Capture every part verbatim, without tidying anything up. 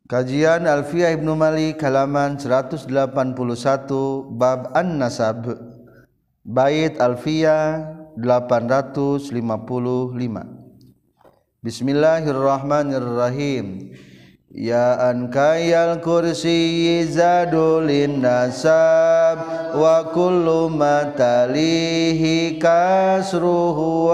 Kajian Alfiyah Ibnu Malik halaman seratus delapan puluh satu bab An-Nasab bait Alfiyah delapan ratus lima puluh lima. Bismillahirrahmanirrahim. Ya an kayal kursi zadulin nasab wa kullu matalihi kasruhu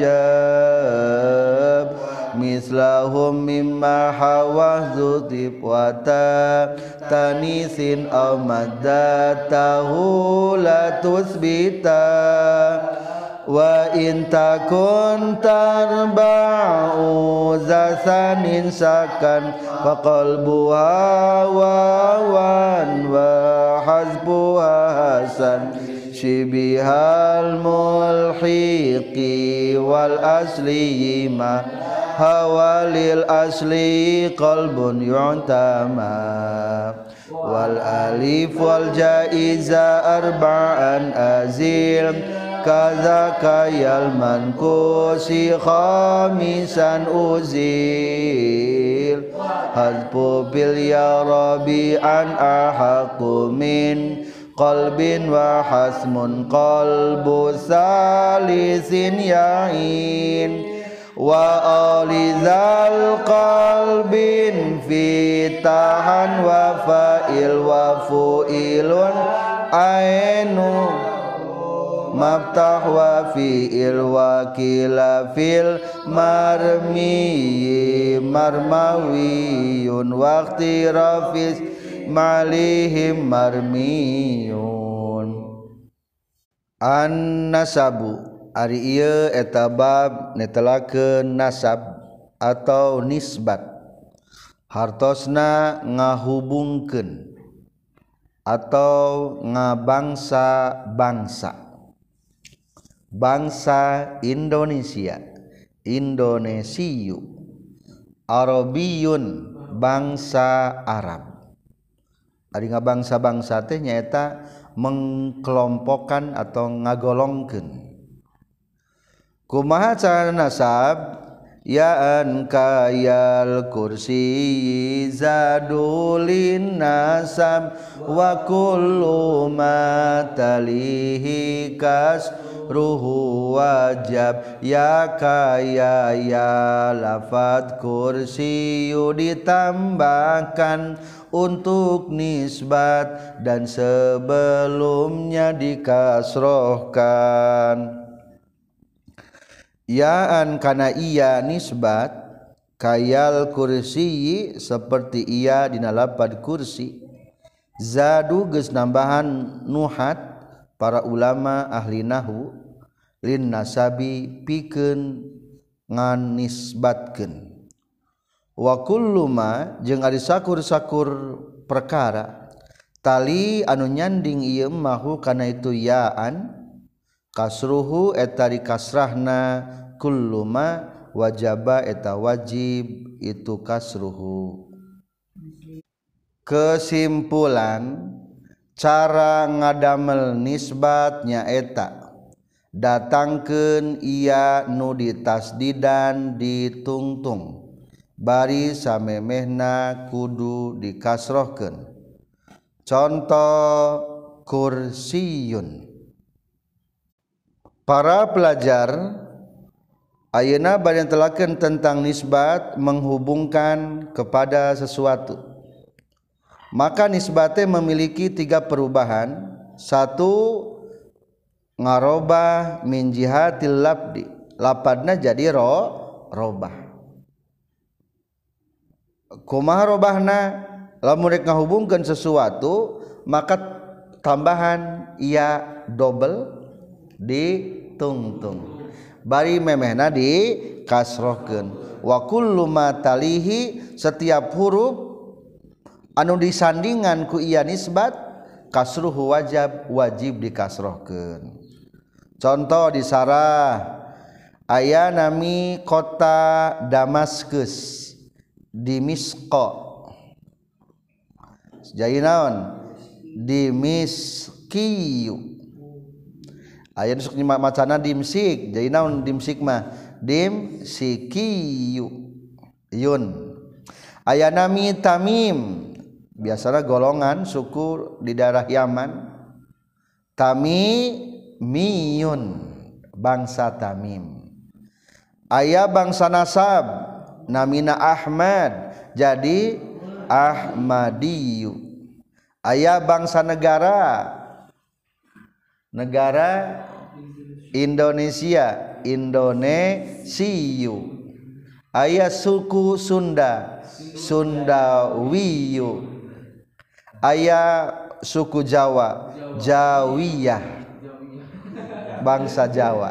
wajab mislahum mimma hawahzu tibwata tanisin aw maddatahu la tusbita wa in takun tarba'u zasanin sakan faqalbuha wawan wa hazbuha hasan shibihal mulhiqi wal asli ma hawalil asli qalbun yu'tama wal alif wal jaiza arba'an azil kadzaka yal mankusi khamisan uzil hadfu bil ya rabbi an ahaqu min qalbin wa hasmun qalbu salisin ya'in wa alizal qalbin fitahan wa fa'il wa fu'ilun ainu maftah wa fi'il wa kila fil marmi marmawiyun waqti rafis malihim marmiyun. An-nasabu ari ieu eta bab netelakeun nasab atau nisbat hartosna ngahubungkeun atau ngabangsa-bangsa bangsa Indonesia Indonesiu Arabiyun bangsa Arab ari ngabangsa-bangsa teh nyaeta mengkelompokkan atau ngagolongkeun. Kumaha cara nasab? Ya an kayal kursi zadulin nasab wa kullu ma talihi kas ruhu wajab ya kaya ya lafad kursi ditambahkan untuk nisbat dan sebelumnya dikasrohkan. Yaan kana iya nisbat kayal kursi seperti iya dina lapad kursi zadu geus nambahan nuhat para ulama ahli nahwu lin nasabi pikeun ngan nisbatkeun wa kullu ma jeung ari sakur-sakur perkara tali anu nyanding ieu mahu kana itu yaan kasruhu eta di kasrahna kulluma wajaba eta wajib itu kasruhu. Kesimpulan cara ngadamel nisbat nyaeta datangkeun iya nu ditasdidan ditungtung bari samemehna kudu dikasrohkeun. Contoh kursiyun. Para pelajar ayeuna bade telakeun tentang nisbat menghubungkan kepada sesuatu. Maka nisbatnya memiliki tiga perubahan. Satu, ngarobah min jihatil labdi. Lapadna jadi ro robah. Kumaha robahna? Lamun rek ngahubungkeun sesuatu, maka tambahan ia double di tungtung bari memehna di kasrohkeun wa kullu ma talihi setiap huruf anu disandingan ku ieu nisbat kasruhu wajab wajib dikasrohkeun. Contoh di sarah aya nami kota Damaskus di Misqa jadi naon di miskiyu aya nu sok macana dimsik jadi naon dimsik mah dimsikiyu yun aya nami Tamim biasanya golongan suku di daerah Yaman Tamimiyun bangsa Tamim aya bangsa nasab namina Ahmad jadi Ahmadiyu aya bangsa negara negara Indonesia Indonesiu aya suku Sunda Sundawiyu aya suku Jawa Jawiyah bangsa Jawa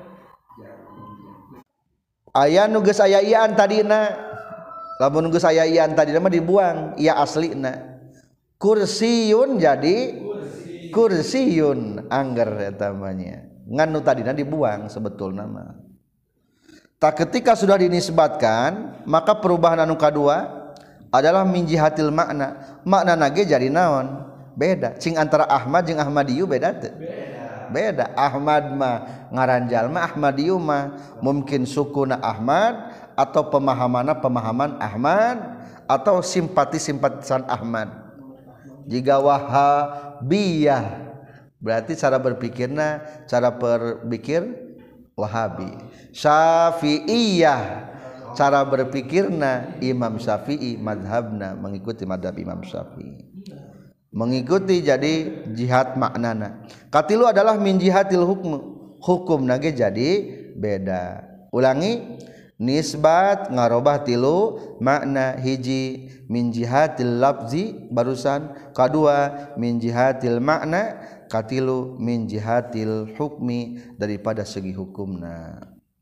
aya nu geus aya ian tadina lamun geus aya ian tadina mah dibuang iya aslina kursiyun jadi kursiyun angger eta namanya ngan nu tadina dibuang sebetulna mah tak ketika sudah dinisbatkan maka perubahan anu kadua adalah min jihatil makna makna nage jadi naon beda cing antara Ahmad jeung Ahmadiyu beda teu beda beda Ahmad mah ngaranjal mah Ahmadiyu mah mungkin sukuna Ahmad atau pemahamanna pemahaman Ahmad atau simpati-simpatisan Ahmad jika Wahabiyah berarti cara berpikirna cara berpikir Wahabi Syafi'iyah cara berpikirna Imam Syafi'i madhabna mengikuti madhab Imam Syafi'i mengikuti jadi jihad maknana katilu adalah min jihatil hukm hukum nage jadi beda ulangi nisbat ngarobah tilu makna hiji min jihatil lafzi barusan kedua min jihatil makna katilu min jihatil hukmi daripada segi hukumna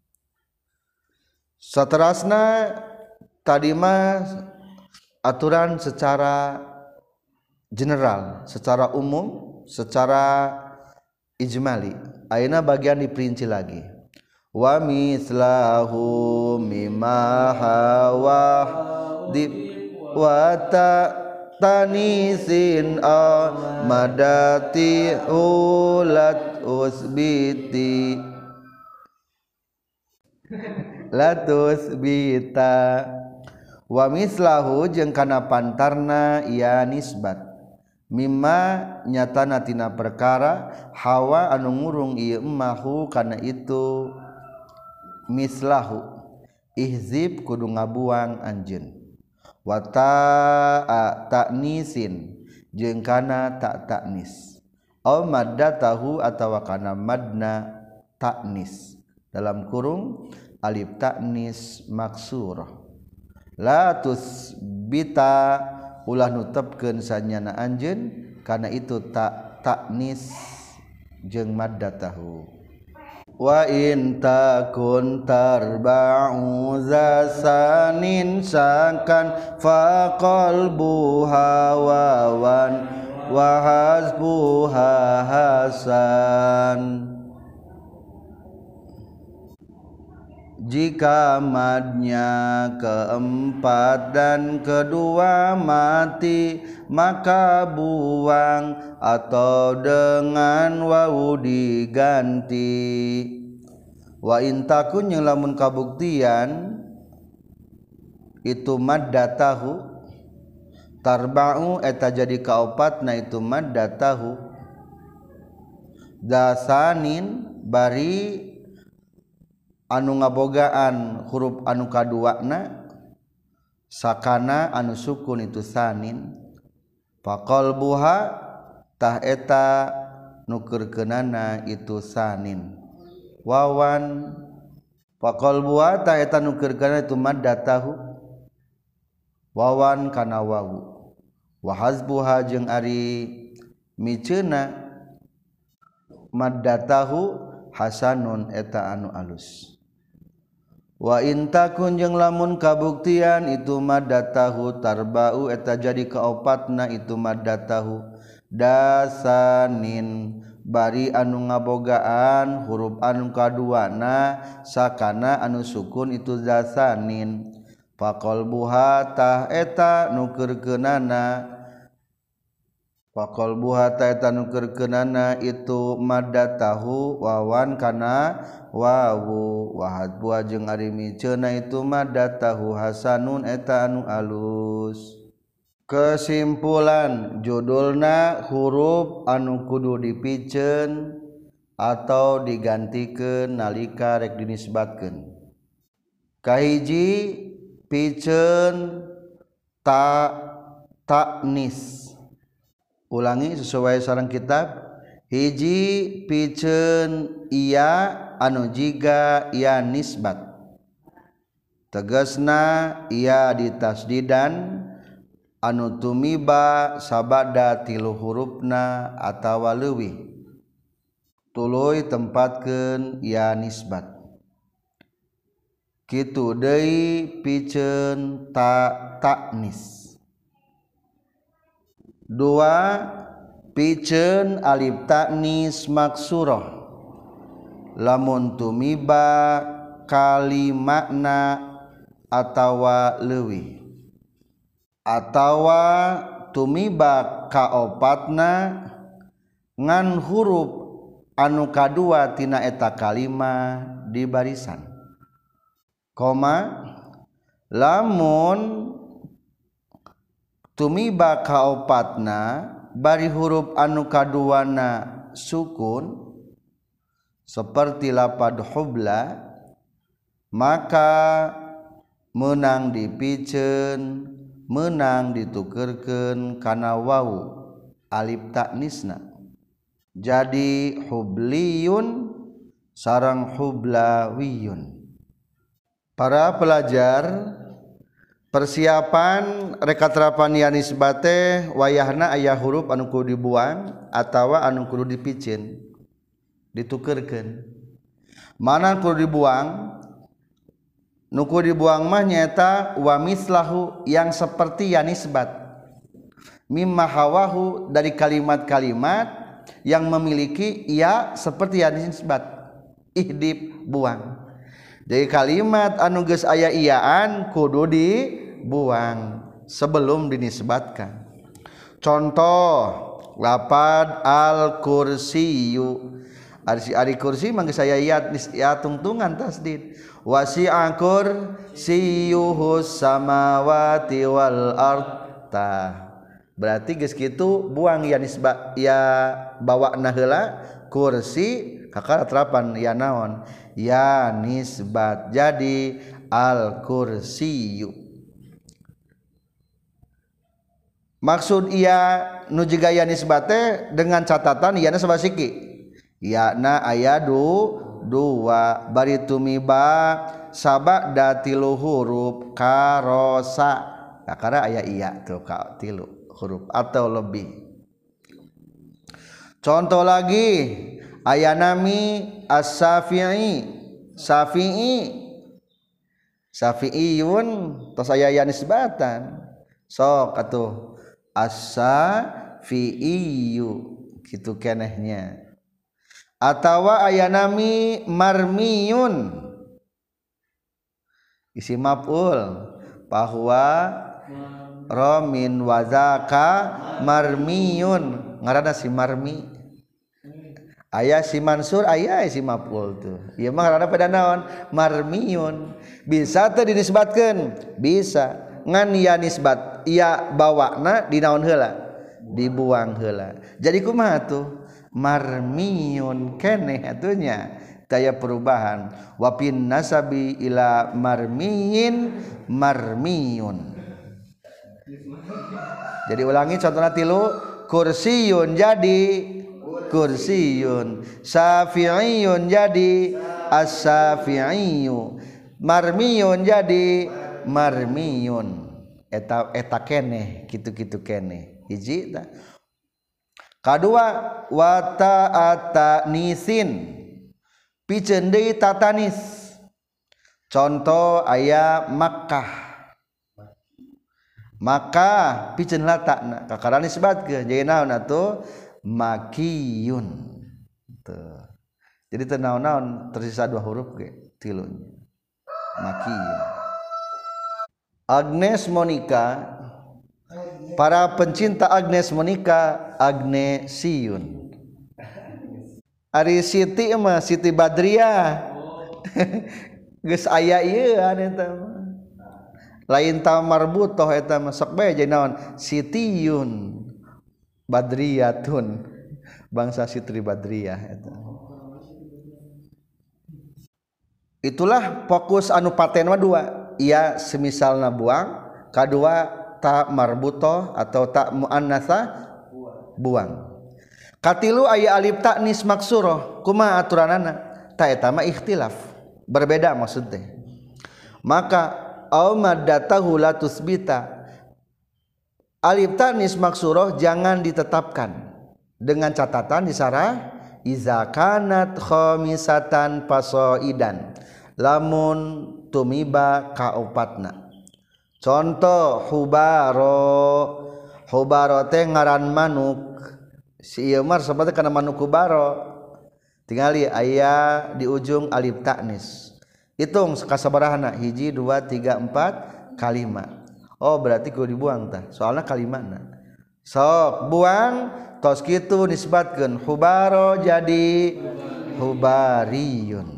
saterasna tadi mah aturan secara general secara umum secara ijmali ayeuna bagian diperinci lagi wa mislahu mimma hawa di wa ta tanisin amadati ulat usbiti latus bita wa mislahu jeung kana pantarna ieu nisbat mimma nyatana tina perkara hawa anu ngurung ieu emmahu kana itu mislahu ihzib kudu ngabuang anjeun wa ta'a ta'nisin jeung kana ta' ta'nis aw maddatahu atawa kana madna ta'nis dalam kurung alif ta'nis maksurah la tusbita ulah nutepkeun sanyana anjeun kana itu ta' ta'nis jeung maddatahu wa in takun tarba'u zasanin sakan fa qalbuha wawan wa hasbuha hasan jika madnya keempat dan kedua mati maka buang atau dengan wawu diganti wa intakun yang lamun kabuktian itu maddatahu tarba'u eta jadi kaopatna itu maddatahu dasanin bari anu ngabogaan huruf anu kaduana sakana anu sukun itu sanin faqalbuha tah eta nukeurkeunana itu sanin wawan faqalbuha tah eta nukeurkeunana itu maddatahu wawan kana wawu wa hasbuha jeung ari miceuna maddatahu hasanun eta anu alus wa intakun jeung lamun kabuktian itu maddatahu tarba'u eta jadi kaopatna itu maddatahu dasanin bari anu ngabogaan huruf anu kaduana sakana anu sukun itu dasanin faqalbuha tah eta nukeurkeunana Pakol buha ta nukerkenana itu madda tahu wawan kana wawu wahad buah jeung ari miceuna itu madda tahu hasanun eta anu alus. Kesimpulan judulna huruf anu kudu dipiceun atau digantikeun nalika rek dinisbatkeun. Kahiji piceun ta ta'nis. Ulangi sesuai sareng kitab. Hiji piceun iya anu jiga iya nisbat. Tegasna iya ditasdidan anu tumiba sabada tilu hurufna atawa leuwih. Tuluy tempatkeun iya nisbat. Kitu deui piceun ta ta'nis. Dua piceun alif ta'nis maksurah lamun tumiba kalimakna atawa leuwih atawa tumiba kaopatna ngan huruf anu kadua tina eta kalima di barisan koma lamun tumiba kaopatna bari huruf anu kaduana sukun seperti lapad hubla maka menang dipiceun menang ditukerkeun kana wawu alif ta'nisna jadi hubliyun sareng hublawiyun. Para pelajar persiapan rekaterapan ya nisbat teh wayahna aya huruf anu kudu dibuang atawa anu kudu dipicin ditukerkeun. Mana kudu dibuang? Nu kudu dibuang mah nyaeta wa mislahu yang seperti ya nisbat. Mimma hawahu dari kalimat-kalimat yang memiliki ya seperti ya nisbat. Ihdib buang. Jadi kalimat anu geus aya iyaan kudu dibuang sebelum dinisbatkan. Contoh lapad al-kursiyu. Ari ari kursi mangga saya iya ya tungtungan tasdid. Wasi'a kursiyuhus samawati wal ardh. Berarti geus kitu buang ya nisbat ya bawana heula kursi kakara terapan ya naon ya nisbat jadi al kursiyu. Maksud iya nu jiga ya nisbat teh dengan catatan iana sabasiki yana ayadu dua bari tumiba sabada tilu huruf karosa kakara aya iya tuh ka tilu huruf atau lebih. Contoh lagi ayanami as-safi'i safi'i safi'iyun tos aya ya nisbatan sok atuh as-safi'iyu kitu kenehnya. Atawa ayanami marmiyun isi maf'ul bahwa ramin wazaka marmiyun ngaranna si marmi aya si mansur aya si maf'ul tuh ieu mah ngaranna pada naon marmiyun bisa teu dinisbatkeun bisa ngan ya nisbat iya bawana dinaon heula dibuang heula jadi kumaha tuh marmiyun keneh atunya daya perubahan wapin nasabi ila marmiyin marmiyun. Jadi ulangi contohna tilu kursiyun jadi kursiyun safi'iyun jadi as-safi'iyu marmiyun jadi marmiyun eta eta keneh kitu-kitu keneh hiji tah. Kadua wa ta'atanisin piceun deui tatanis contoh aya Makkah maka piceun latakna kakara nisbatkeun jadi naon atuh makiyun tuh jadi teu naon-naon tersisa dua huruf ge tilunya makiyun. Agnes Monica Para pencinta Agnes Monica Agnesiun. Ari Siti mah Siti Badriah. Geus aya ieu eta mah. Lain ta marbutoh eta mah sok bae jadi naon Sitiyun Badriyatun. Bangsa Siti Badriah eta. Itulah fokus anu paten mah dua. Ia semisalna buang, kadua tak marbutoh atau tak muannatsa buang. Katilu aya alif ta'nis maksuroh kumaha aturanana ta eta mah ikhtilaf berbeda maksudnya. Maka au maddatahu la tusbita alif ta'nis maksuroh jangan ditetapkan dengan catatan di sarah iza kanat khamisatan fasoidan lamun tumiba kaopatna. Contoh hubaro hubaro teh ngaran manuk si ieu mah sebetna kana manuk hubaro tingali aya di ujung alif ta'nis hitung kasabarahanna hiji dua tiga empat kalima. Oh berarti kudu dibuang tah soalna kalimana sok buang tos kitu nisbatkeun hubaro jadi hubariyun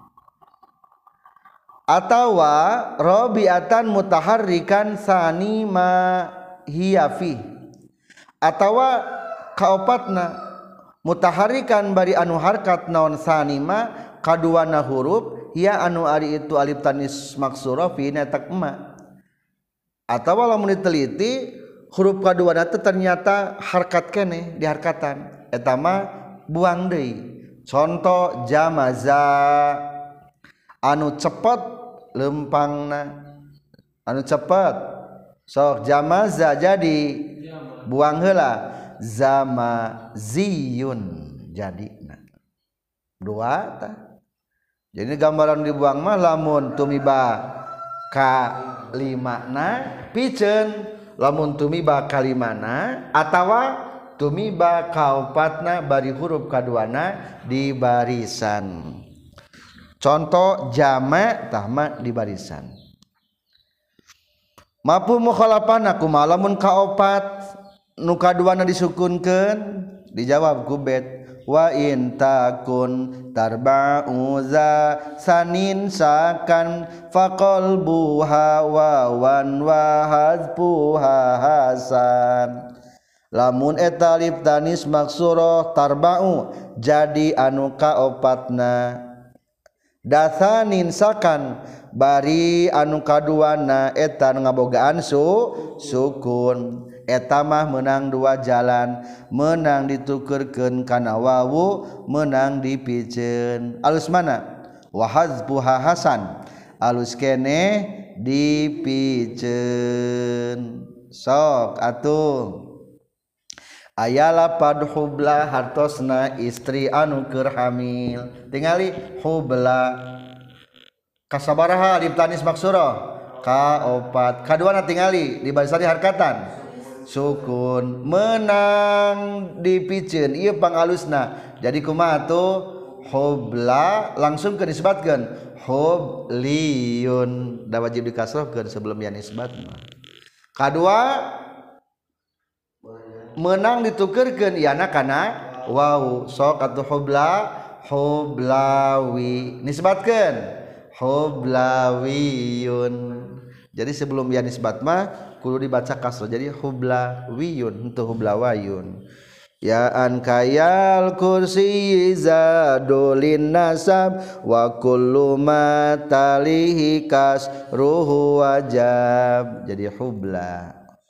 atawa rabiatan mutaharrikan sani ma hiya fi atawa kaopatna mutaharrikan bari anu harkat naon sani ma kaduana huruf hiya anu ari itu alif tanis maksura fi netak ma atawa lamun diteliti huruf kaduana teh ternyata harkat keneh diharkatan eta mah buang deui. Contoh jamaza anu cepet lempangna anu cepet sok jamaza jadi buang heula zamaziyun jadina dua tah. Jadi gambaran dibuang mah lamun tumiba kalimana piceun lamun tumiba kalimana atawa tumiba kaopatna bari huruf kaduana di barisan. Contoh jama' tahma di barisan. Mafhum mukhalafana kumaha lamun kaopat nu kaduana disukunkeun dijawab ku bet wa in takun tarba'u za sanin sakan faqalbuha wawan wa hazfuha hasan. Lamun eta alif tanis maksurah tarba'u jadi anu kaopatna dasanin sakan bari anu kaduana eta ngabogaan su sukun eta mah menang dua jalan menang ditukerkeun kana wawu menang dipikeun alus mana wa hazfuha hasan alus keneh dipikeun sok atuh aya lapad hubla hartosna istri anu keur hamil tingali hubla kasabaraha alif tanis maksura kaopat kaduana tingali di barisan harkatan sukun menang dipikeun ieu pangalusna jadi kumaha tuh hubla langsung ke disbatkeun hubliyun da wajib dikasrohkeun sebelum ya nisbat mah kadua menang ditukerkeun iana kana waw sok atuh hubla hublawi nisbatkeun hublawiyun jadi sebelum ya nisbat mah kudu dibaca kasrah jadi hublawiyun henteu hublawayun ya an kayal kursi zadulin nasab wa kullu ma talihi kasruhu wajab jadi hubla.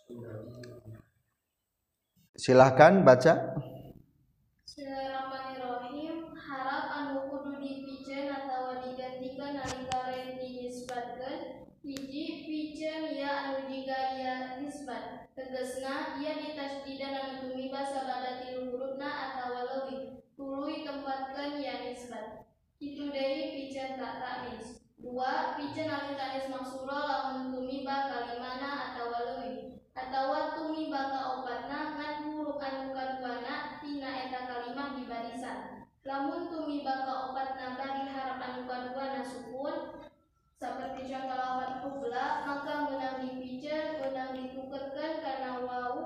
Silahkan baca. Bismillahirrahmanirrahim. Harap anu kudu dipikeun atawa digantikan nalika rek dinisbatkeun hiji pikeun ya anu jiga ya nisbat tegasna ieu ditasdidan anu tumiba sabada tilu hurufna atawa leuwih tuluy tempatkeun ya nisbat kitu deui pikeun ta ta'nis dua pikeun alif ta'nis maksura lamun tumiba kalimana atawa leuwih atawa tumiba kaopatna ngan huruf anu kaduana tina eta kalimah di barisan lamun tumiba kaopatna bari harap anu kaduana sukun saperti contoh lafaz hubla maka menang dipikeun menang ditukerkeun kana wawu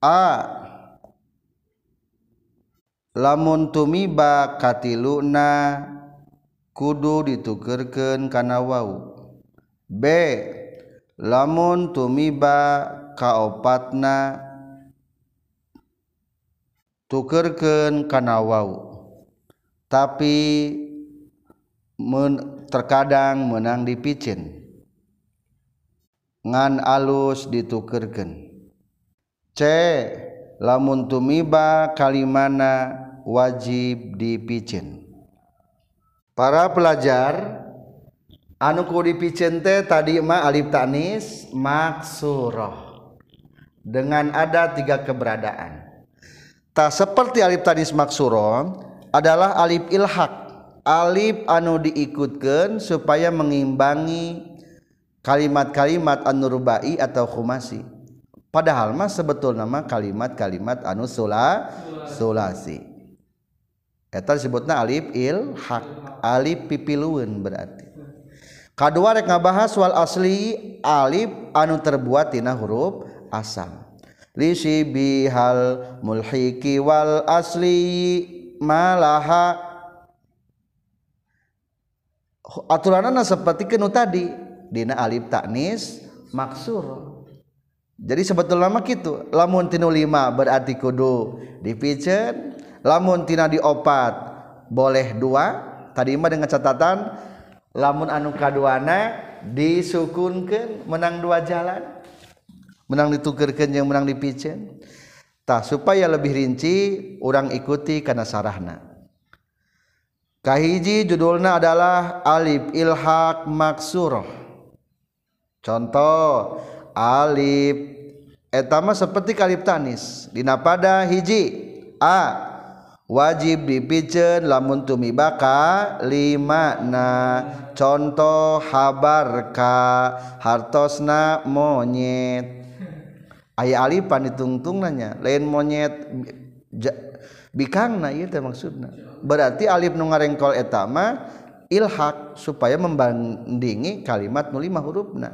A lamun tumiba katiluna kudu ditukerkeun kana wau. B lamun tumiba kaopatna tukerkeun kana wau tapi men, terkadang menang dipicen ngan alus ditukerkeun. C lamun tumiba kalimana wajib dipicen. Para pelajar anu kudu dipicen teh tadi mah alif tanis maksurah dengan ada tiga keberadaan. Tak seperti alif tanis maksurah adalah alif ilhaq, alif anu diikutkeun supaya mengimbangi kalimat-kalimat anu rubai atau khumasi. Padahal mah sebetulna mah kalimat-kalimat anu sula sulasi. Eta disebutna alif ilhaq, alif pipilueun berarti. Kadua rek ngabahas wal asli alif anu terbuat tina huruf asal. Li sibihal mulhiki wal asli malaha. Aturanana seperti kenu tadi dina alif taknis maksur. Jadi sebetulnya mah kitu, lamun tinu lima berarti kudu dipicen, lamun tina diopat boleh dua. Tadi mah dengan catatan lamun anu kaduana disukunkeun menang dua jalan, menang ditukerkeun jeung menang dipicen. Tah supaya lebih rinci urang ikuti kana sarahna. Kahiji judulna adalah alif ilhaq maksurah. Contoh alif eta mah seperti alif tanis dina pada hiji a wajib dipicen lamun tumibaka lima na. Contoh habarka hartosna monyet. Aya alifan ditungtung nanya lain monyet bikangna ieu teh maksudna. Berarti alif nu ngarengkol eta mah ilhaq supaya membandingi kalimat nu lima hurufna.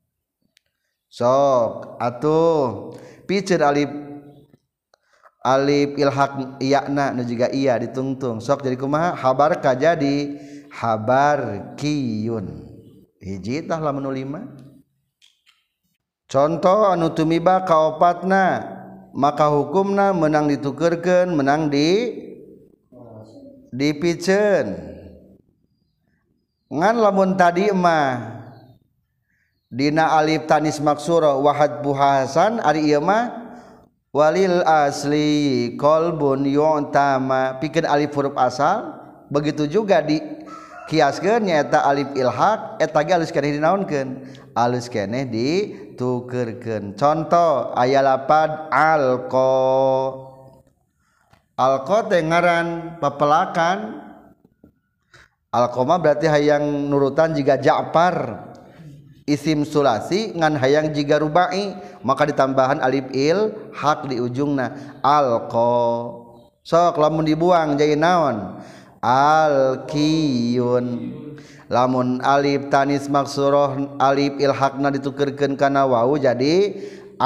Sok atuh piceun alif alif ilhaq iyana nu juga iya ditungtung. Sok jadi kumaha? Habarka jadi habarkiyun. Hiji tah lamun nu lima. Contoh anu tumiba kaopatna maka hukumna menang ditukerkeun menang di dipicen. Ngan lamun tadi mah dina alif tanis maksurah wahad buhasan ari ieu mah walil asli qalbun yu'tama pikeun alif huruf asal. Begitu juga di kiaskeun nyaeta alif ilhaq eta ge alus keneh dinaonkeun, alus keneh ditukerkeun. Contoh aya lapad alqa. Alqa teh ngaran papelakan. Alqa mah berarti hayang nurutan jiga Ja'far. Isim sulasi ngan hayang jiga rubai maka ditambahan alif il haq di ujungna alqa. Sok lamun dibuang jadi naon? Alqiyun. Lamun alif tanis maksurah alif ilhaqna ditukerkeun kana wawu jadi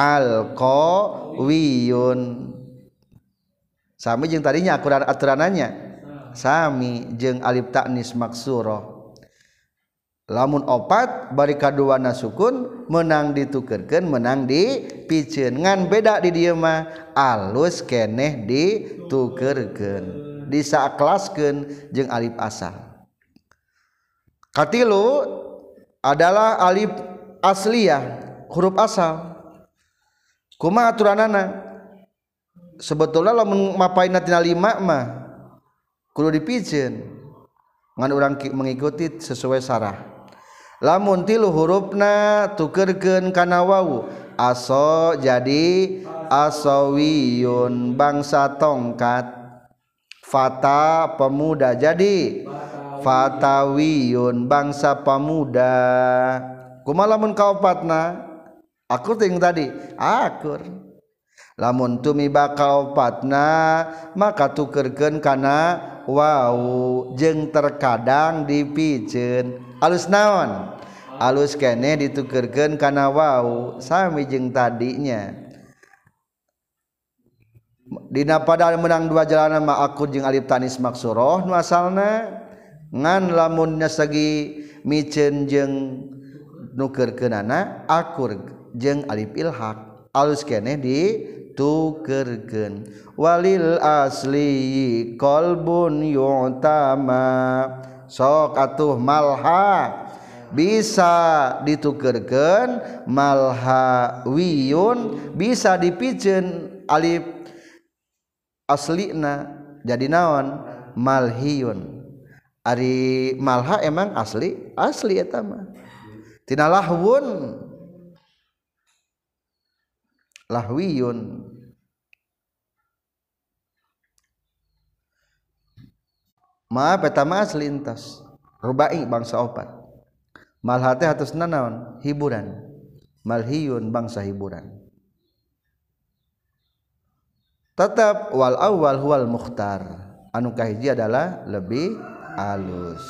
alqawiyun. Sami jeung tadinya aturan-aturananya sami jeung alif tanis maksurah. Lamun opat bari kaduana sukun menang ditukerkeun menang dipicen. Ngan beda di dieu mah alus keneh ditukerkeun disakelaskeun jeung alif asal. Katilu adalah alif asliyah huruf asal. Kumaha aturanana? Sebetulna lamun mapaina tina lima mah kudu dipicen. Ngan urang mengikuti sesuai sarah. Lamun tilu hurufna tukerkeun kana wawu aso jadi asawiyun bangsa tongkat. Fata pemuda jadi fatawiyun bangsa pemuda. Kumaha lamun kaopatna? Akur ting tadi akur. Lamun tumiba kaopatna maka tukerkeun kana wawu jeung terkadang dipicen. Alus naon? Alus keneh ditukerkeun kana wawu sami jeung tadinya. dina pada menang dua jalanan ma akur jeung alif tanis maksuroh nu asalna ngan lamunnya sagi miceun jeung nukeurkeunana akur jeung alif ilhaq alus keneh ditukeurkeun walil asli qalbun yu'tama sok atuh malha bisa ditukeurkeun malha wiyun bisa dipikeun alif aslina jadi naon malhiyun ari malha emang asli asli eta mah tina lahwun lahwiyun maaf eta mah asli entos rubai bangsa opat malha teh hatusna naon hiburan malhiyun bangsa hiburan tetap wal awal huwal mukhtar anu kahiji adalah lebih alus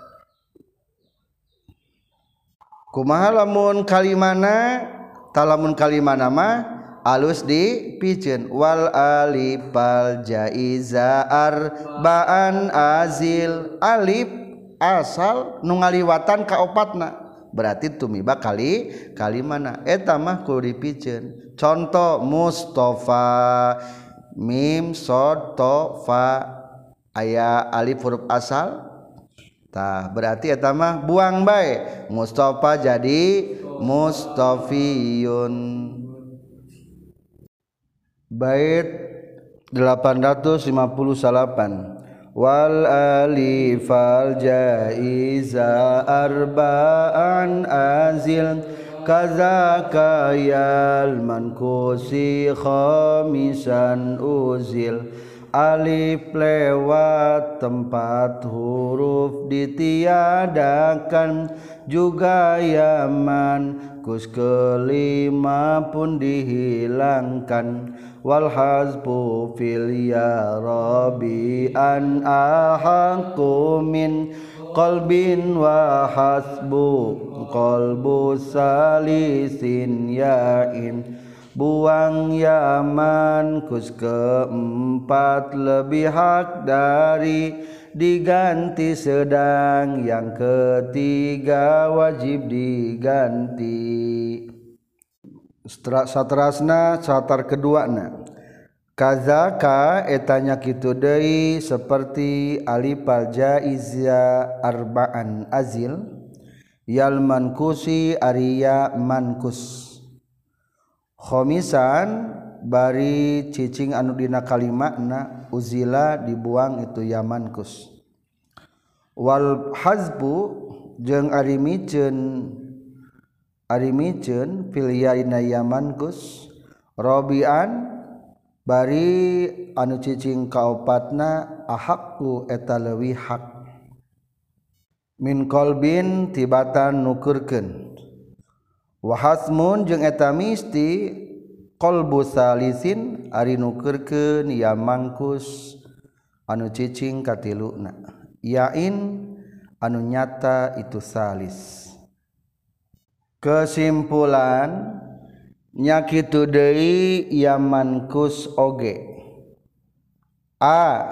kumaha lamun kalimana talamun kalimana mah alus dipikeun wal alifal jaiza arbaan azil alif asal nu ngaliwatan ka opatna berarti tumiba kali kalimana eta mah kudu dipikeun contoh Mustafa mim sod to fa aya alif huruf asal tah berarti eta mah buang bae Mustafa jadi Mustafiyun bait delapan ratus lima puluh delapan wal alifal jaiza arba'an azil kazaka yal mankusi khamisan uzil alif lewat tempat huruf ditiadakan juga yaman kus kelima pun dihilangkan wal hazbu fil ya rabbi an ahaqu min qalbin wa hasbu qalbu salisin yain buang yaman kus keempat lebih hak dari diganti sedang yang ketiga wajib diganti satrasna satar keduana kazaka etanya kitu deui seperti alifal jaiza arba'an azil yal mankusi ariya mankus khomisan bari cicing anu dina kalimatna uzila dibuang itu ya mankus wal hazbu jeung ari miceun ari miceun fil yaina ya mankus rabian bari anu cicing kaopatna ahaqu eta leuwih hak min qalbin tibatan nukeurkeun wa hasmun jeung eta misti qalbu salisin ari nukeurkeun ya mangkus anu cicing katiluna yain anu nyata itu salis kesimpulan nya kitu deui ya mankus oge a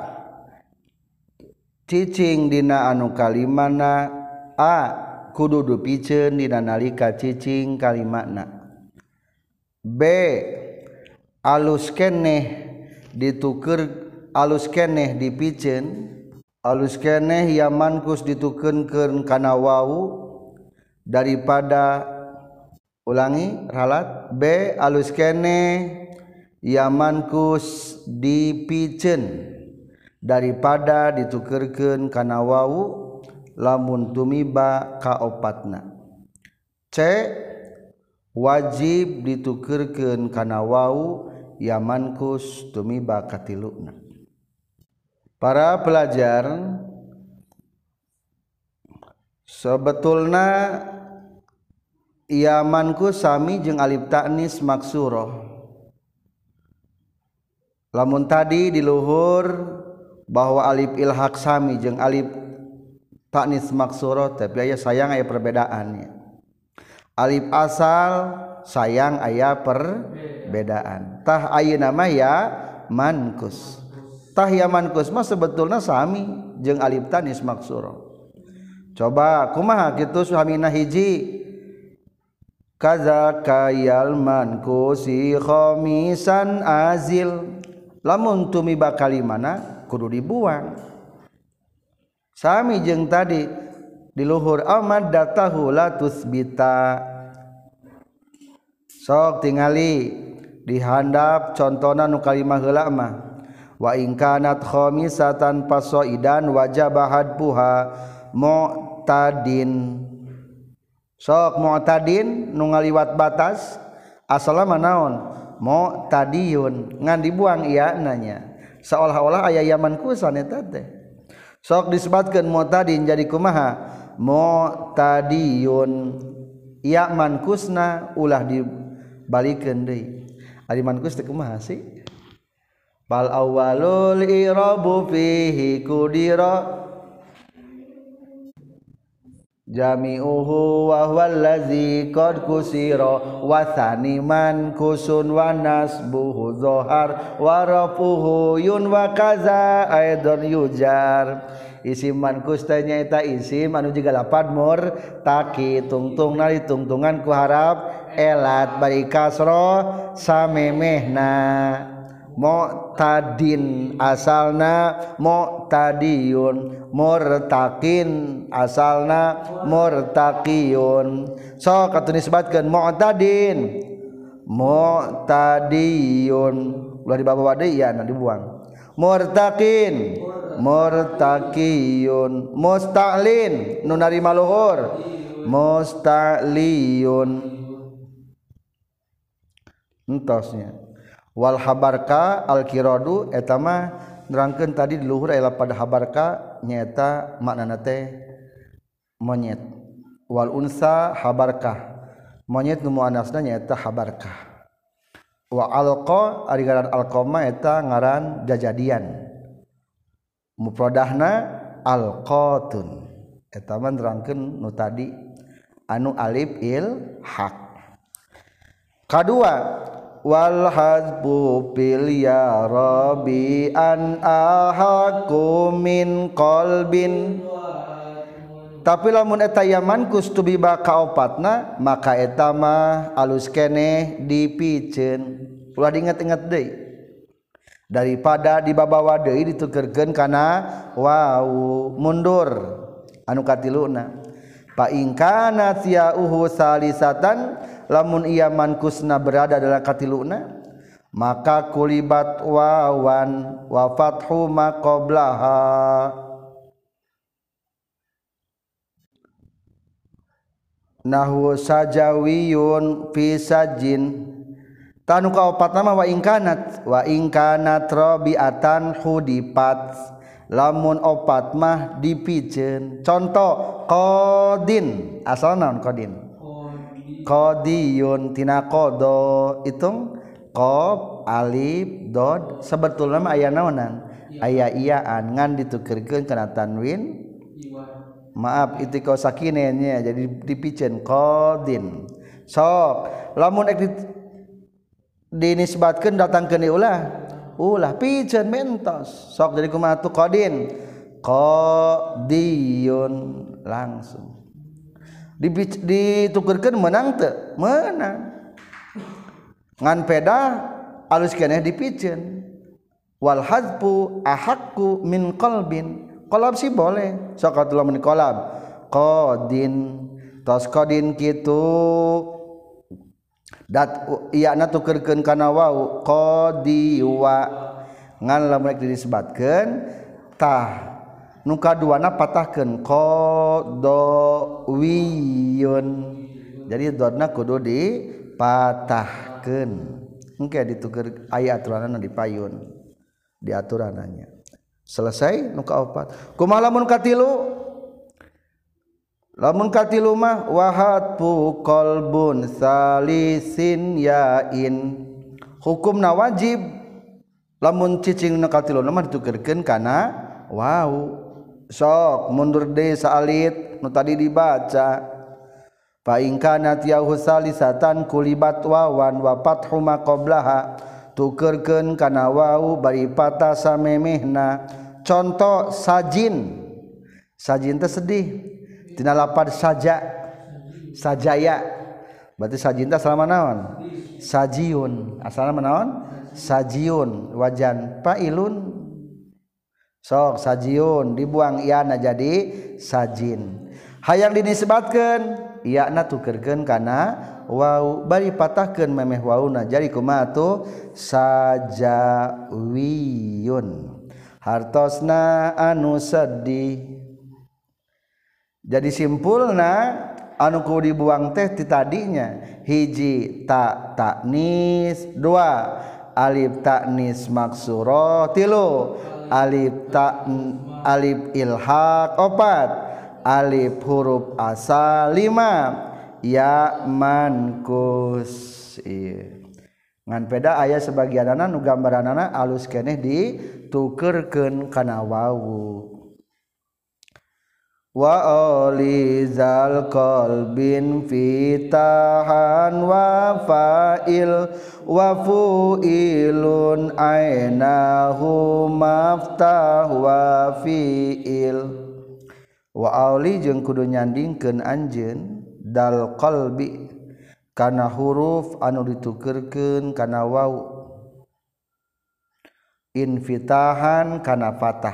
cicing dina anu kalimana a kudu dupikeun dina nalika cicing kalimatna b alus keneh ditukeur alus keneh dipikeun alus keneh ya mankus ditukeunkeun kana wau daripada ulangi ralat b alus keneh ya mankus dipikeun daripada ditukeurkeun kana wau lamun tumiba kaopatna c wajib ditukeurkeun kana wau ya mankus tumiba katiluna para pelajar sebetulna ya mankus sami jeung alif ta'nis maksuroh lamun tadi di luhur bahwa alif ilhaq sami jeung alif ta'nis maksuroh tapi aya sayang aya perbedaannya alif asal sayang aya perbedaan tah ayeuna mah ya mankus tah ya mankus mah sebetulna sami jeung alif tanis maksura coba kumaha kitu suhamina hiji kaza kayal mankusi khamisan azil lamun tumiba kalimana kudu dibuang sami jeung tadi di luhur amad datahu la tusbita sok tingali dihandap contohna nu kalimah heula mah wa in kanat khamisatan fasaidan wajaba hadbuha mu'tadin sok mu'tadin nu ngaliwat batas asalna naon mu'tadiyun ngan dibuang ieu nanya seolah-olah aya yaman kusan eta teh sok disebutkeun mu'tadin jadi kumaha mu'tadiyun ya mankusna ulah dibalikeun deui ari mankus teh kumaha sih bal awwalul irabu fihi kudira jami'uhu wa huwa allazi qad kusira wa thani mankusun wa nasbuhu dhahar wa rafuhu yun wa kaza aidan yujar isim mankus teh nyaeta isim anu jiga lapad murtaki tungtungna ditungtungan ku harap elat bari kasra samemehna mu'tadin asalna mu'tadiyun murtaqin asalna murtaqiyun so katu nisbatkeun mu'tadin mu'tadiyun ulah dibawa deui ya na dibuang murtaqin murtaqiyun musta'lin nu narima luhur musta'liyun entosnya wal habarka al kiradu eta mah nerangkeun tadi di luhur aya pada habarka nyaeta maknana teh monyet wal unsa habarka monyet nu muannasna nyaeta habarka wa alqa ari ngaran alqama eta ngaran jajadian mufradahna alqatun eta mah nerangkeun nu tadi anu alif il haq kadua wal hazbu bil ya rabbi an ahaqu min qalbin tapi lamun eta yaman kustubi baka opatna maka eta mah alus keneh dipikeun ulah diinget-inget deui daripada dibabawa deui ditukeurkeun kana wau mundur anu katiluna fa in kana siyauhu salisatan lamun ia mankusna berada dalam katiluna maka kulibat wawan wa fathu ma qablaha nahwu sajawiyun fi sajin tanu kaopat nama wa ingkanat wa ingkanat rabiatan hudipat lamun opat mah dipikeun contoh qadin asal naon qadin qadiyun tina qada itung qaf alif dod sebetulna mah aya naonan aya iyaan ngan ditukeurkeun kana tanwin maaf itiqo sakinenya jadi dipikeun qadin sok lamun ek dinisbatkeun datangkeun ulah ulah pikeun mentos sok jadi kumaha tu qadin qadiyun langsung ditukeurkeun menang teu menang ngan peda alus keneh dipikeun wal hazfu ahaqqu min qalbin qalab sih boleh sok atuh lamun qalab qadin tos qadin kitu dat ieu na tukeurkeun kana wau qadiwa ngan lamun disebutkeun tah nu kaduana patahkeun qadawiyun jadi dodna kudu dipatahkeun engke dituker aya aturanna dipayun diaturananya selesai nu kaopat kumaha lamun katilu lamun katilu mah wahatfu qalbun salisin yain hukumna wajib lamun cicing nu katilu mah ditukeurkeun kana wau sok mundur deui saalit nu tadi dibaca fa in kana tiyahu salisatan kulibat wawan wa fathu ma qablaha tukerkeun kana wau bari patah samemehna. Contoh sajin, sajin teh sedih tina lapad saja sajaya berarti sajin teh asalna naon sajiun asalna naon sajiun wajan pailun sok sajiun dibuang iana jadi sajin hayang dinisbatkeun iana tukerkeun kana wau bari patahkeun memeh wauna jadi kumaha tuh sajawiyun hartosna anu sedih. Jadi simpulna anu kudu dibuang teh ti tadinya hiji ta taknis, dua alif taknis maksuro, tilu alif ta alif ilhaq, opat alif huruf asal, lima ya mankus. Ieu ngan peda aya sebagianana nu gambaranana alus keneh ditukeurkeun kana wawu. Wa alizal qalbin fitahan wa fa'il wa fu'ilun ainahu maftah wa fi'il. Wa auli jeung kudu nyandingkeun anjeun dal qalbi kana huruf anu ditukeurkeun kana wawu infitahan kana fatah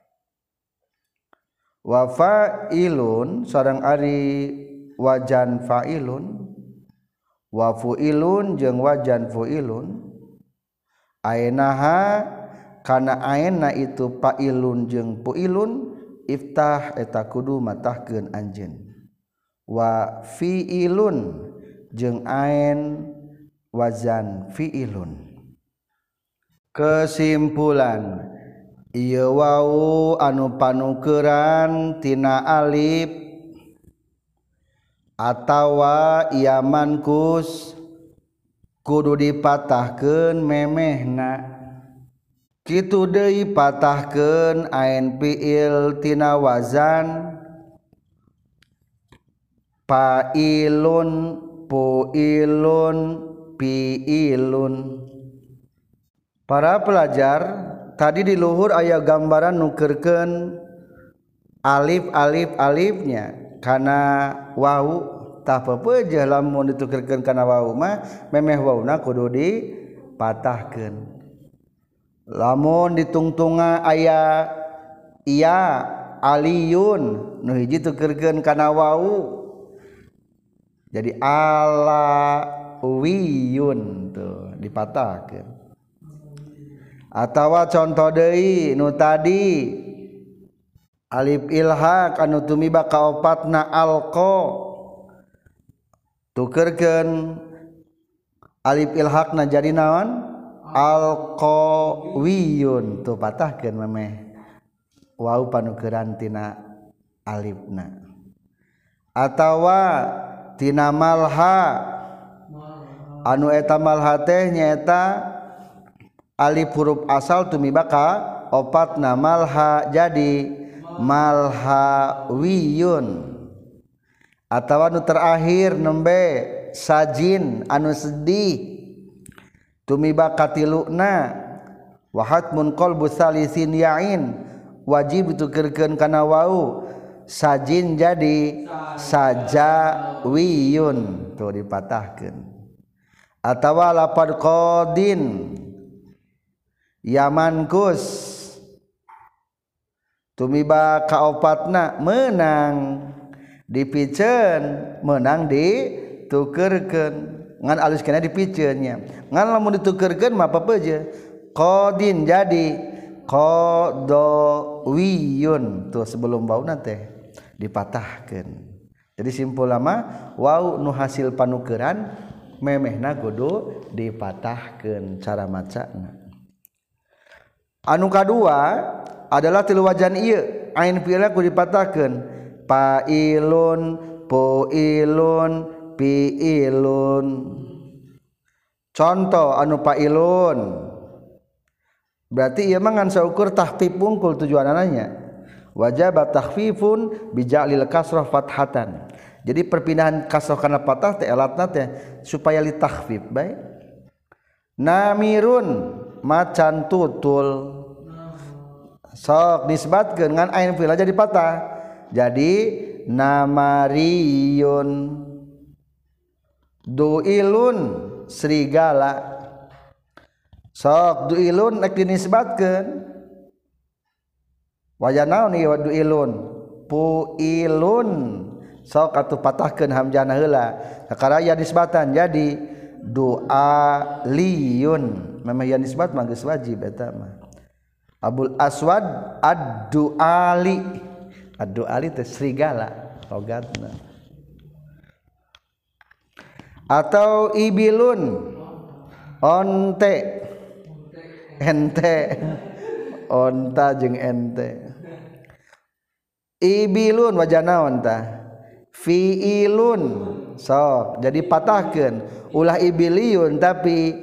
wa fa'ilun sareng ari wajan fa'ilun wa fu'ilun jeung wajan fu'ilun ainaha kana aina itu fa'ilun jeung fu'ilun iftah eta kudu matahkeun anjeun wa fi'ilun jeung ain wazan fi'ilun. Kesimpulan ieu wau anu panukeuran tina alif atawa ieu mankus kudu dipatahkeun memehna kitu deui patahkeun ain fi'il tina wazan fa'ilun pu'ilun pi'ilun. Para pelajar tadi di luhur aya gambaran nukeurkeun alif alif alifnya kana wau tah pepeujeuh lamun ditukeurkeun kana wau mah memeh wauna kudu dipatahkeun. Lamun ditungtunga aya iya aliyun nu hiji tukeurkeun kana wau jadi alawiyun tuh dipatahkeun. Atawa contoh deui nu tadi alif ilhaq anu tumiba ka opatna alqa tukeurkeun alif ilhaqna jadi naon alqawiyun tuh patahkeun memeh wau panukeuran tina alifna. Atawa tina malha anu eta malha teh nyaeta alif huruf asal tumiba ka opatna malha jadi malhawiyun. Atawa nu terakhir nembe sajin anu sedih tumiba katiluna wa hatmun qalbu salisin ya'in wajib ditukeurkeun kana wau sajin jadi sajawiyun tuh dipatahkeun. Atawa lapad qadin yamankus tumiba kaopatna menang dipiceun menang ditukeurkeun ngan alus kena dipiceun nya ngan lamun ditukeurkeun mah papeujeuh qadin jadi qadawiyun tuh sebelum bauna teh dipatahkeun. Jadi simpul lama wau nu hasil panukeuran memehna kudu dipatahkeun cara macana. Anu kadua adalah tilu wajan ieu ain fi'ilna kudu dipatahkeun fa'ilun pu'ilun pi'ilun. Contoh anu fa'ilun berarti ieu mah ngan saukur tahfif wungkul tujuanna nya wajib takhfifun bija'lil kasrah fathatan. Jadi perpindahan kasrah kana fathah teh elatna teh supaya li takhfif bae. namirun macan tutul sok nisbatkeun ngan ain fi'il jadi patah jadi namariyun. Duilun serigala sok duilun nek dinisbatkeun wajah naon ieu duilun puilun sok atuh patahkeun hamzahna heula sakaraya nisbatan jadi dualiyun memang ya nisbat mah geus wajib eta mah. Abul Aswad ad-duali ad-duali teh serigala logatna. Atau ibilun onte ente onta jeung ente. Ibilun wajah naon tah fiilun sok jadi patahkeun ulah ibiliyun tapi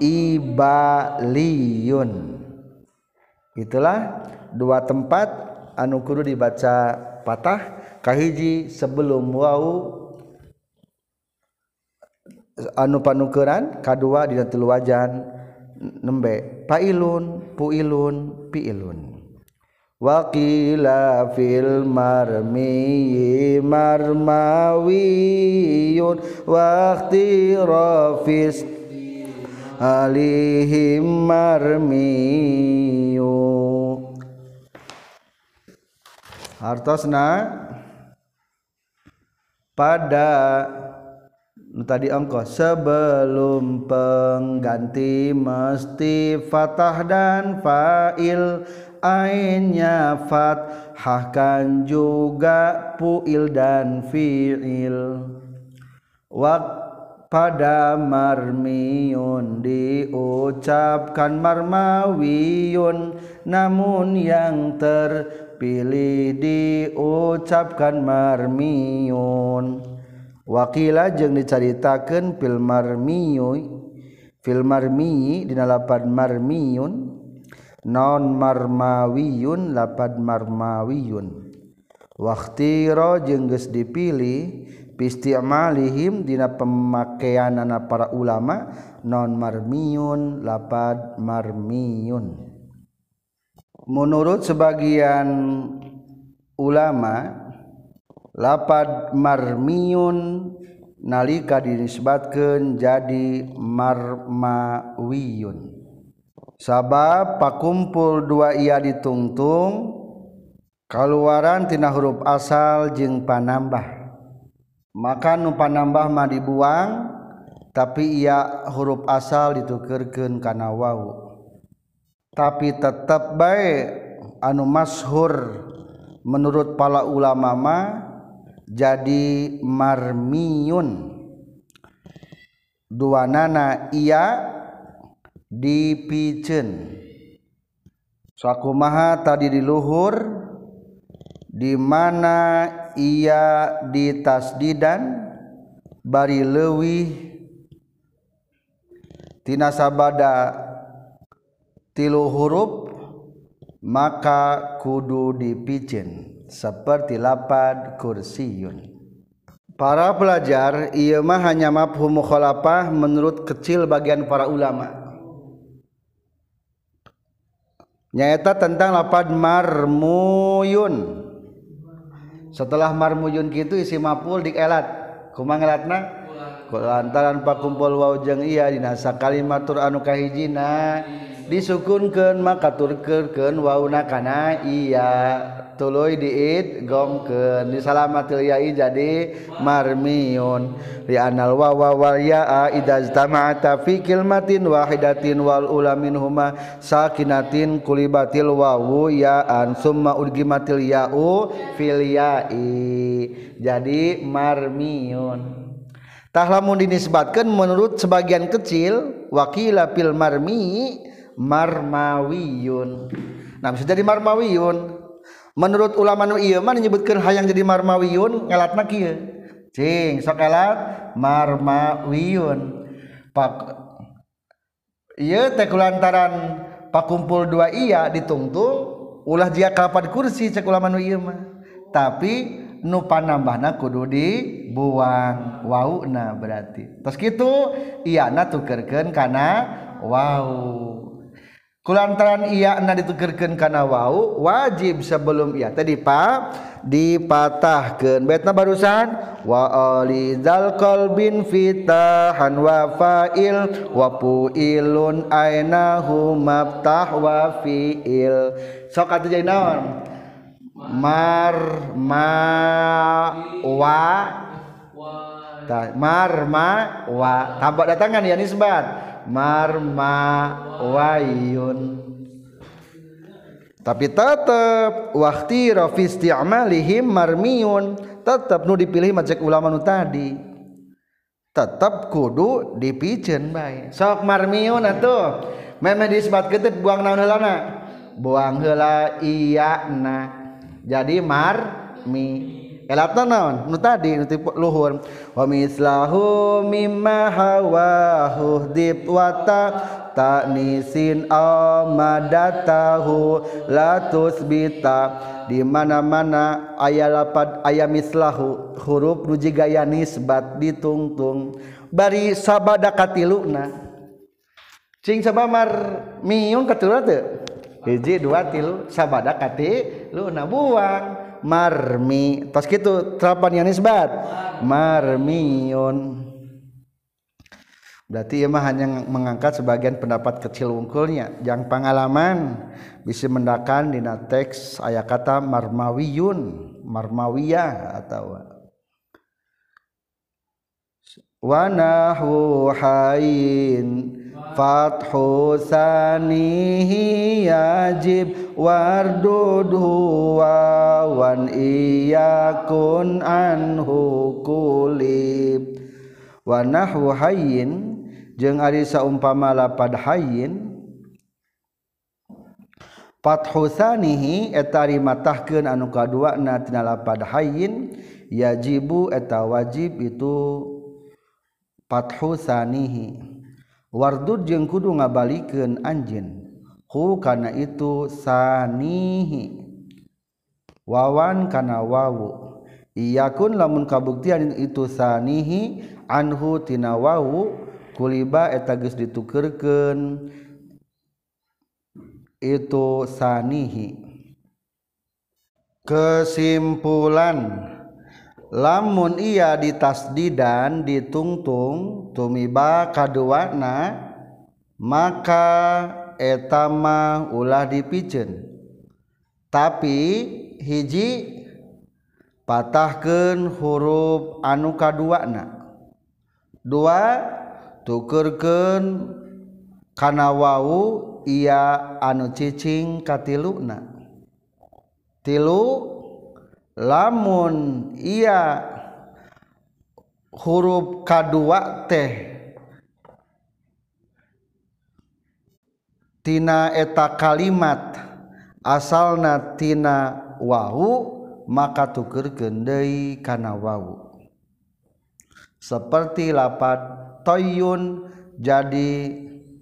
ibaliyun. Itulah dua tempat anu kudu dibaca patah kahiji sebelum wau anu panukeran kadua dina telu wajan nembe pailun puilun piilun. Wa qila fil marmi marmawiyun wa ikhtirafis alihim marmiyu. Hartosna pada tadi engkau sebelum pengganti mesti fathah dan fa'il ainnya fathahkan juga pu'il dan fi'il. Wak pada marmiyun diucapkan marmawiyun namun yang terpilih diucapkan marmiyun. Wakila jeung dicaritakeun fil marmiyu fil marmiyi dina lapad marmiyun non marmawiyun lapad marmawiyun. Waqtira jeung geus dipilih pisti'malihim dina pemakaianana para ulama non marmiyun lapad marmiyun. Menurut sebagian ulama lapad marmiyun nalika dinisbatkeun jadi marmawiyun sabab pakumpul dua iya ditungtung kaluaran tina huruf asal jeung panambah maka nu panambah mah dibuang tapi iya huruf asal ditukeurkeun kana wawu tapi tetep bae anu masyhur menurut para ulama mah jadi marmiyun duanana iya dipiceun sakumaha tadi di luhur di mana ia ditasdidan bari leuwih tina sabada tilu huruf maka kudu dipiceun seperti lapad kursiyun. Para pelajar ieu mah hanya mafhum mukhalafah menurut kecil bagian para ulama. Nyaeta tentang lapad marmuyun. Setelah marmuyun kitu isi maf'ul dielat. Kumaha ngelatna? Lantaran pakumpul waw jeung iya dina sakalimatur anu kahijina disukunkeun maka turkeun wauna kana iya tuluy diid gomkeun disalamatil ya'i jadi marmiyun li anal wawa wal ya'a idza istama'ata fi kalimatin wahidatin wal ula minhuma sakinatin kulibatil wawu ya'an summa udgimatil ya'u fil ya'i jadi marmiyun. Tah lamun dinisbatkeun menurut sebagian kecil wakila fil marmi marmawiyun. Nah bisa jadi marmawiyun. Menurut ulama nu ieu mah nyebutkeun hayang jadi marmawiyun ngalatna kieu. Cing sok elat marmawiyun. Pak ieu teh kulantaran pakumpul dua iya ditungtung ulah jia kalapad kursi cek ulama nu ieu mah. Tapi nu panambahna kudu dibuang wauna berarti. Terus kitu iyana tukeurkeun kana wau kulantaran iya na ditukerkeun kana wau wajib sebelum iya tadi pa dipatahkeun baitna barusan wa alizal qalbin fitahan wa fa'il wa puilun ainahu maftah wa fiil sok atuh jadi naon mar ma wa ta mar ma wa tambah datangan ya nisbat mar ma wayun tapi tetap waqti rafi isti'malihim marmiyun tetap nu dipilih macek ulama nu tadi tetap kudu dipikeun bae sok marmiyun atuh meme disbat keut buang naon heulana buang heula iya na jadi marmi elatna naon nu tadi nu luhur wa mislahu mimma hawahu dib wa ta ta'nisin amadatahu la tusbita di mana-mana aya lapad aya mislahu huruf nu jiga aya nisbat ditungtung bari sabada katiluna cing sabamar miyun katiluna teu hiji dua tilu sabada katiluna buang marmi tos kitu terapan yang nisbat marmiyun berarti ia mah hanya mengangkat sebagian pendapat kecil wungkulnya yang pengalaman bisa mendakan dina teks aya kata marmawiyun marmawiyah atau wa nahu hayin fathu sanihi yajib wardudhu wa wan iyakun anhu kulib wa nahwu hayyin jeung ari saumpama lapad hayyin fathu sanihi eta ari matahkeun anu kaduana tina lapad hayyin yajibu eta wajib itu fathu sanihi wardud jeung kudu ngabalikeun anjeun hu kana itu sanihi wawan kana wawu iyakun lamun kabuktian itu sanihi anhu tina wawu kuliba eta geus ditukeurkeun itu sanihi kesimpulan lamun iya ditasdidan ditungtung tumiba kaduana maka eta mah ulah dipikeun tapi hiji patahkeun huruf anu kaduana dua tukeurkeun kana wau iya anu cicing katiluna tilu lamun iya huruf kadua teh tina eta kalimat asalna tina wau maka tukeurkeun deui kana wau seperti lapad toyun jadi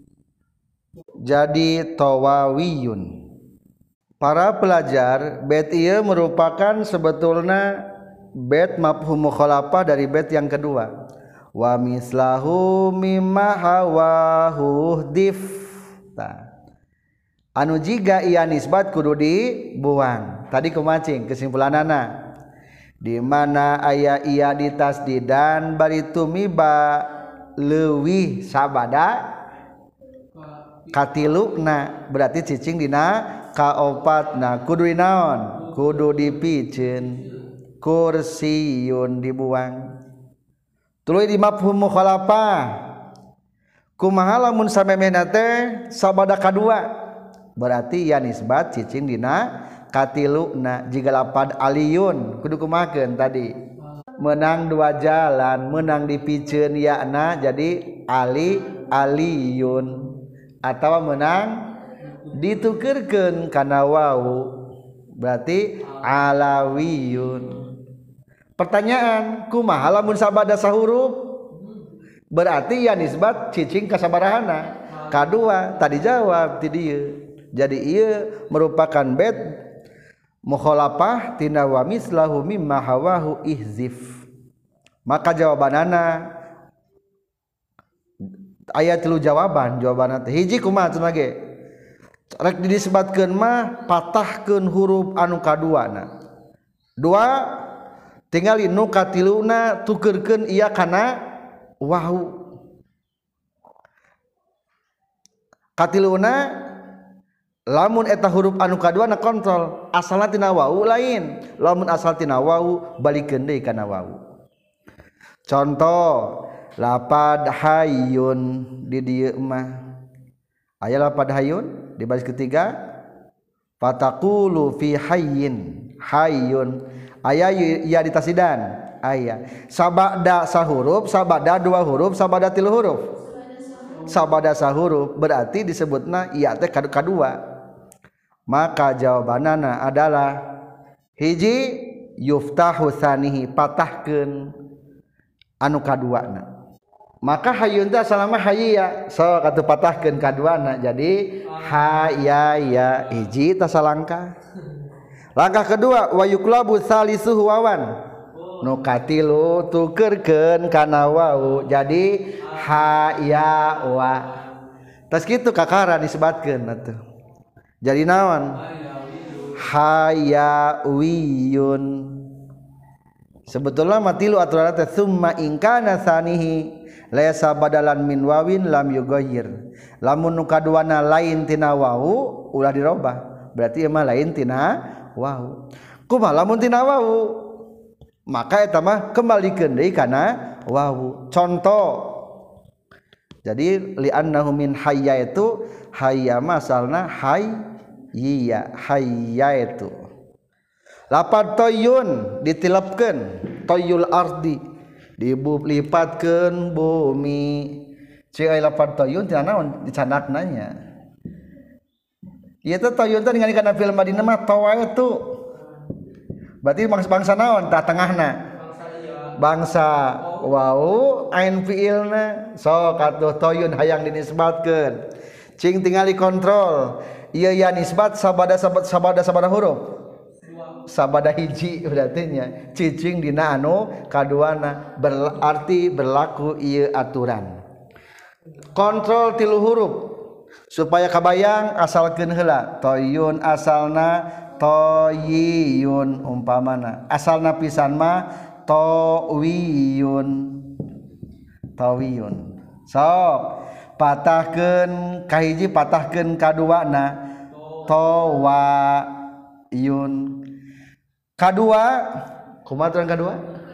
jadi tawawiyun. Para pelajar, bait ieu merupakan sebetulnya bait mafhum mukhalafah dari bait yang kedua. Wa mislahu mimma hawahu dif. Anu jiga ieu nisbat kudu dibuang. Tadi kumacing kesimpulanana. Di mana aya iya ditasdidan bari tumiba leuwih sabada katiluna berarti cicing dina kaopatna kudu dinaon kudu dipikeun kursiyun dibuang tuluy di mafhum mukhalafah kumaha lamun samemehna teh sabada kadua berarti ya nisbat cicing dina katiluna jiga lapad aliyun kudu kumakeun tadi menang dua jalan menang dipikeun yana jadi ali aliyun atau menang ditukeurkeun kana wawu berarti alawiyun. Pertanyaan kumaha lamun sabada sahuruf berarti ya nisbat cicing ka sabarahana kadua tadi jawab ti dieu jadi ieu merupakan bait mukhalafah tina wa mislahu mimma hawahu ihzif maka jawabanana aya tilu jawaban jawaban teh hiji kumaha cenah ge rek disebutkeun mah patahkeun huruf anu kaduana dua tingali nu katiluna tukeurkeun ieu kana wawu katiluna lamun eta huruf anu kaduana kontrol asalna tina wawu lain lamun asal tina wawu balikeun deui kana wawu contoh lapad hayyun di dieu mah aya lapad hayyun di baris ketiga fataqulu fi hayyin hayyun aya ya di tasidan aya sabada sahuruf sabada dua huruf sabada tilu huruf sabada sahuruf berarti disebutna iya teh kadua maka jawabanana adalah hiji yuftahu tsanihi patahkeun anu kaduana maka hayyun teh asalna hayya so katu patahkeun kaduana jadi hayya hiji tasa langkah langkah kedua wa yuklabu tsalisuhu wawan nu katilu tukeurkeun kana wawu jadi hayya wa tas kitu kakara disebutkeun atuh jadi naon hayawiyun sebetulnya matilu aturan teh summa in kana sanihi laysa badalan min wawin lam yughayyir lamun nu kaduana lain tina wawu ulah dirobah berarti emang lain tina wawu kumaha lamun tina wawu maka eta mah kembalikeun deui kana wawu contoh jadi li'annahu min hayya itu hayya masalna hay iya hayya itu lapad toyun ditilapkeun toyul ardi dibulipatkeun bumi ceu aya lapad toyun tina naon dicanakna nya ieu teh toyun teh ningali kana film Madinah mah tawa itu berarti bangsa bangsa naon tah tengahna bangsa wau ain fiilna sok atuh toyun hayang dinisbatkeun cing tingali kontrol ieu ya nisbat sabada sabada sabada huruf sabada hiji berarti nya cicing dina anu kaduana berarti berlaku ieu aturan kontrol tilu huruf supaya kabayang asalkeun heula toyun asalna toyiyun umpamana asalna pisan mah tawiyun tawiyun sok patahkeun kahiji patahkeun kaduana tawayun kadua kumaha aturan kadua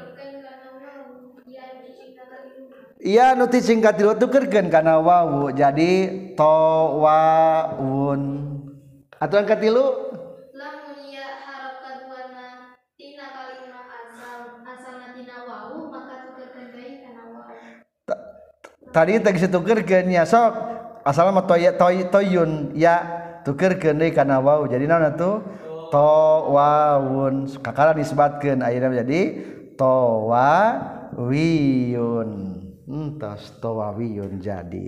iya nu ti singkat tilu tukeurkeun kana wawu jadi tawawun aturan katilu lamun ieu harap kaduana tina kalimat asal asalna tina wawu maka tukeurkeun deui kana wawu tadi teh geus tukeurkeun nya sok asalna mah toy toy toyun ya tukeurkeun deui kana wawu jadi naon atuh tawawun kakara disebutkeun ayeuna jadi tawawiyun entos tawawiyun jadi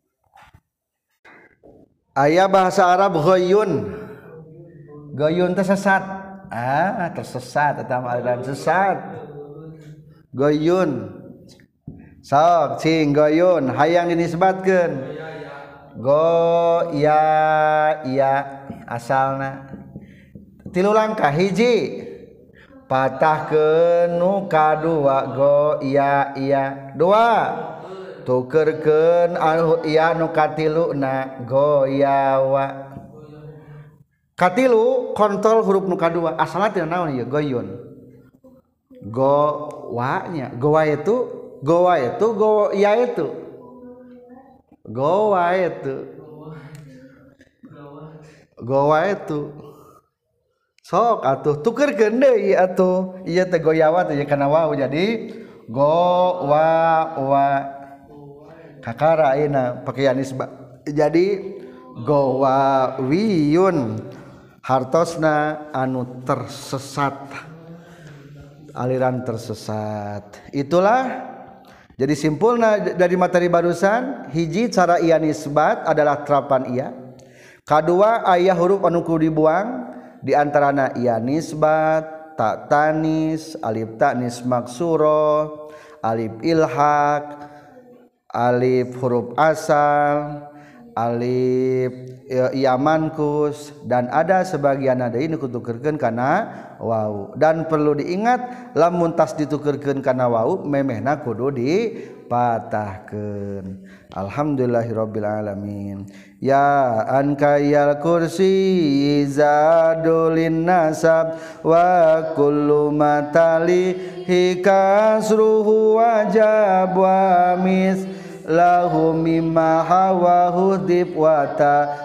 aya bahasa Arab ghayyun ghayyun teh sesat ah tersesat eta mah aliran sesat ghayyun sok cing ghayyun hayang dinisbatkeun go ya ya asalna tilu langkah hiji patahkeun nu kadua go iya iya dua tukeurkeun anu iya nu katiluna go yawa katilu kontrol huruf nu kadua asalna tina naon ieu goyun go wa nya go wa itu go wa itu go iya itu go wa itu go wa itu sok atuh tukeurkeun deui atuh ieu teh goyawa teh kana wawu jadi go wa wa kakara ayeuna pake nisbah jadi go wa wiyun hartosna anu tersesat aliran tersesat itulah jadi simpulna dari materi barusan hiji cara ieu nisbat adalah terapan iya kadua aya huruf anu kudu dibuang di antarana iya nisbat, tak tanis, alif tanis maksuro, alif ilhaq, alif huruf asal, alif iya mankus, dan ada sebagian ada ini kutukerkeun kana waw. Dan perlu diingat lamun tas ditukerkeun kana waw memehna kudu dipatahkeun. Alhamdulillahirabbil alamin. Ya ankayal kursi zadulin nasab wa kullu matali hikasruhu wajab wa mis lahu mimma hawahu dib wa ta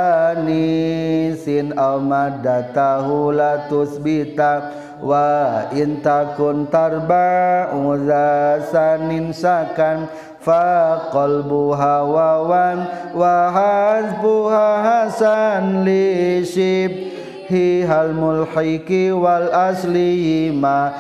tanisin aw maddatahu la tusbita wa intakun tarba'u zasanin sakan fa qalbuha wawan wa hasbuha hasan li shibhi hal mulhiki wal asli ma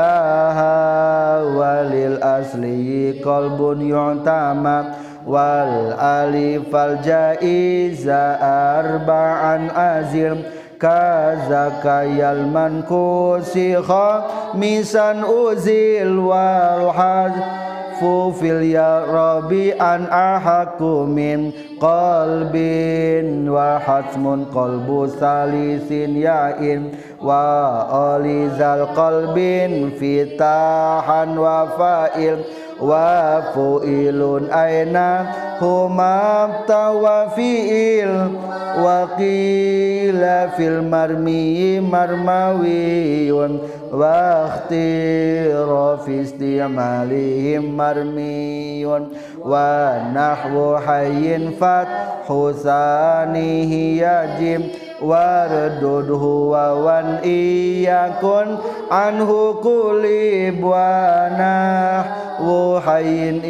laha walil asli qalbun yu'tama wal alif al jaiza arba'an azim kazakayal mankusi khamisan uzil wal hadfu fil ya rabbi an ahaku min qalbin wa hatmun qalbu salisin ya'in wa alizal qalbin fitahan wa fa'il wa fu'ilun aina huma tawafi'il wa qila fil marmi marmawiyun wa ikhtira fi isti'malihim marmiyun wa nahwu hayyin fathu sanihi yajim wardudhu wa wan iyakun anhu kulib wa nahwu hayyin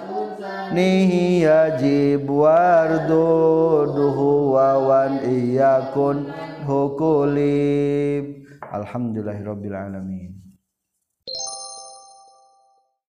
ibnihi yajib wardudhu wa wan iyakun hukulib. Alhamdulillahirabbil alamin.